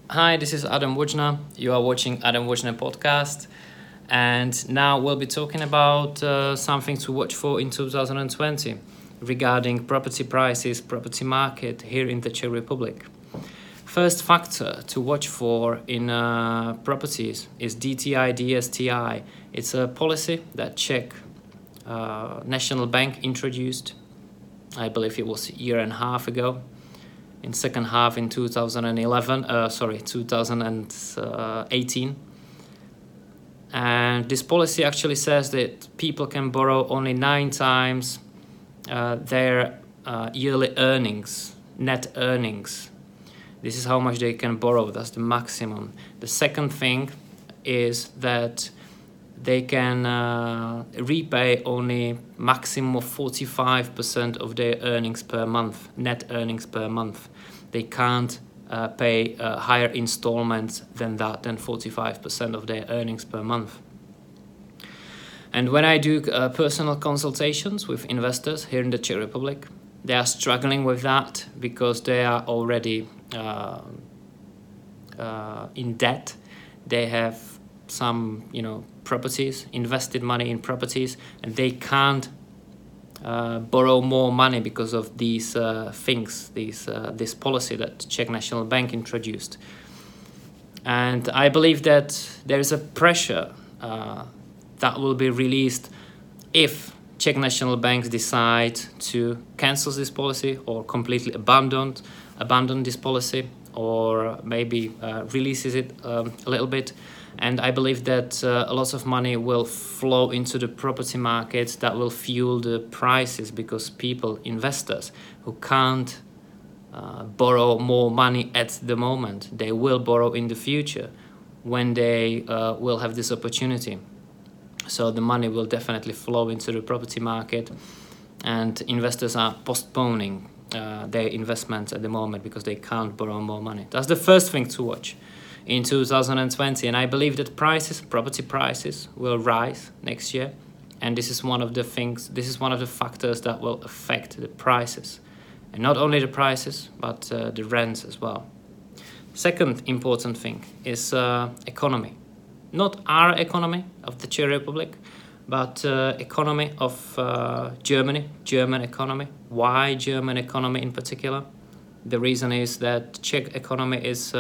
Hi, this is Adam Wojna. You are watching Adam Wojna podcast, and now we'll be talking about something to watch for in 2020 regarding property prices, property market here in the Czech Republic. First factor to watch for in properties is DTI DSTI. It's a policy that Czech National Bank introduced. I believe it was a year and a half ago. In second half in 2018. And this policy actually says that people can borrow only 9 times their yearly earnings, net earnings. This is how much they can borrow, that's the maximum. The second thing is that they can repay only maximum of 45% of their earnings per month, net earnings per month. They can't pay higher installments than 45% of their earnings per month. And when I do personal consultations with investors here in the Czech Republic, they are struggling with that because they are already in debt. They have some properties, invested money in properties, and they can't borrow more money because of these things, this policy that Czech National Bank introduced. And I believe that there is a pressure that will be released if Czech National Bank decide to cancel this policy or completely abandon this policy, or maybe releases it a little bit. And I believe that a lot of money will flow into the property market that will fuel the prices, because people, investors who can't borrow more money at the moment, they will borrow in the future when they will have this opportunity. So the money will definitely flow into the property market, and investors are postponing their investments at the moment because they can't borrow more money. That's the first thing to watch in 2020, and I believe that property prices will rise next year, and this is one of the factors that will affect the prices, and not only the prices but the rents as well. Second important thing is economy, not our economy of the Czech Republic, but economy of German economy. Why German economy in particular? The reason is that Czech economy is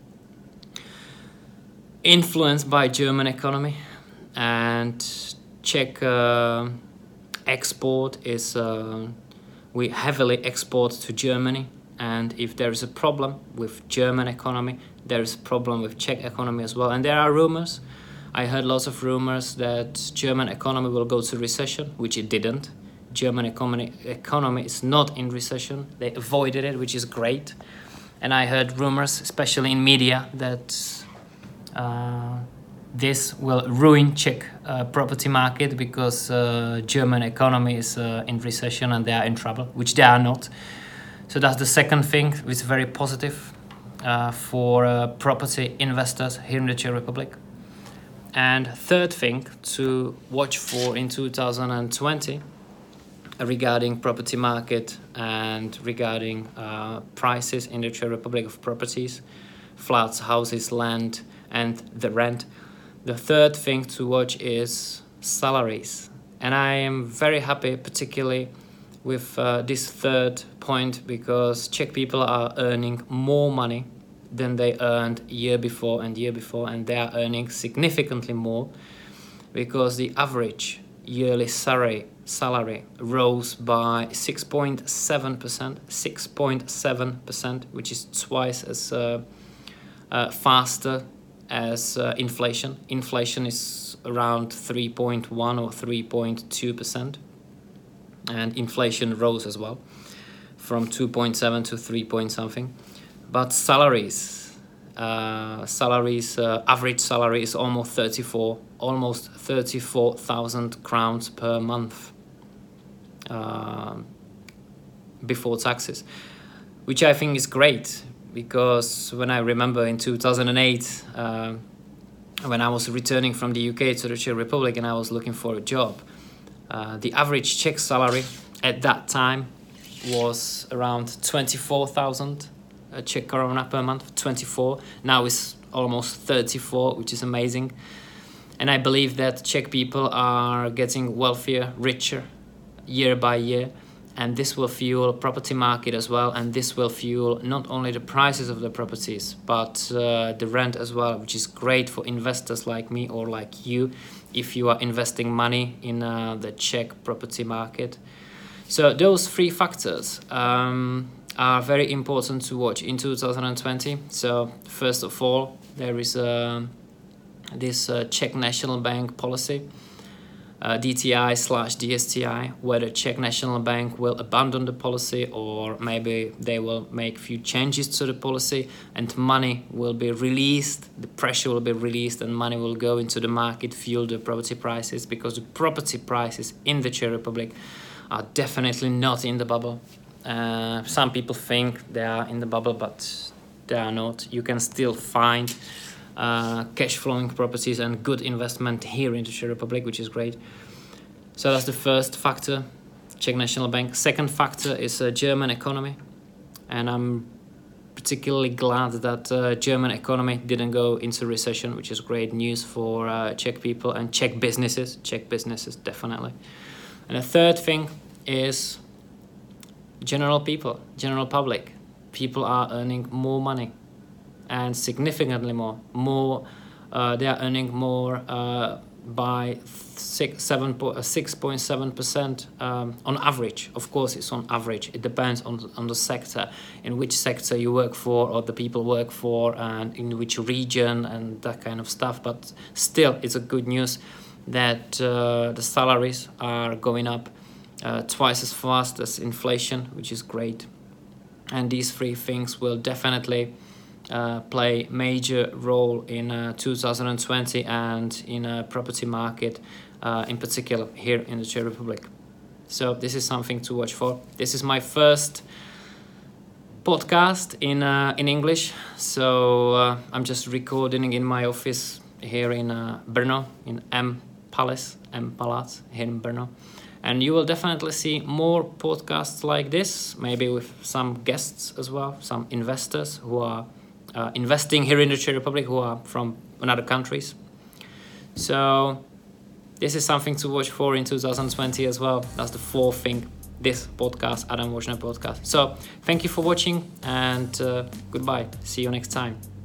influenced by German economy, and Czech export is we heavily export to Germany, and if there is a problem with German economy, there is a problem with Czech economy as well. And there are rumors. I heard lots of rumors that German economy will go to recession, which it didn't. German economy is not in recession. They avoided it, which is great. And I heard rumors, especially in media, that this will ruin Czech property market because German economy is in recession and they are in trouble, which they are not. So that's the second thing, which is very positive for property investors here in the Czech Republic. And third thing to watch for in 2020 regarding property market and regarding prices in the Czech Republic of properties, flats, houses, land, and the rent. The third thing to watch is salaries. And I am very happy particularly with this third point, because Czech people are earning more money than they earned year before, and they are earning significantly more, because the average yearly salary rose by 6.7%, which is twice as faster as inflation. Inflation is around 3.1 or 3.2%, and inflation rose as well from 2.7 to 3 point something. But average salary is almost 34,000 crowns per month before taxes, which I think is great. Because when I remember in 2008, when I was returning from the UK to the Czech Republic and I was looking for a job, the average Czech salary at that time was around 24,000 Czech koruna per month, 24. Now it's almost 34, which is amazing. And I believe that Czech people are getting wealthier, richer, year by year. And this will fuel property market as well. And this will fuel not only the prices of the properties, but the rent as well, which is great for investors like me or like you, if you are investing money in the Czech property market. So those three factors are very important to watch in 2020. So first of all, there is this Czech National Bank policy, DTI/DSTI, where the Czech National Bank will abandon the policy, or maybe they will make few changes to the policy, and money will be released, the pressure will be released, and money will go into the market, fuel the property prices, because the property prices in the Czech Republic are definitely not in the bubble. Some people think they are in the bubble, but they are not. You can still find cash flowing properties and good investment here in the Czech Republic, which is great. So that's the first factor, Czech National Bank. Second factor is German economy, and I'm particularly glad that German economy didn't go into recession, which is great news for Czech people and Czech businesses definitely. And the third thing is general public. People are earning more money, and significantly more. They are earning more by 6.7% on average. Of course, it's on average. It depends on the sector, in which sector you work for or the people work for, and in which region and that kind of stuff. But still, it's a good news that the salaries are going up twice as fast as inflation, which is great. And these three things will definitely play major role in 2020 and in a property market in particular here in the Czech Republic. So this is something to watch for. This is my first podcast in English, so I'm just recording in my office here in Brno, in M Palác here in Brno. And you will definitely see more podcasts like this, maybe with some guests as well, some investors who are investing here in the Czech Republic, who are from other countries. So this is something to watch for in 2020 as well. That's the fourth thing, this podcast, Adam Vočner podcast. So thank you for watching, and goodbye. See you next time.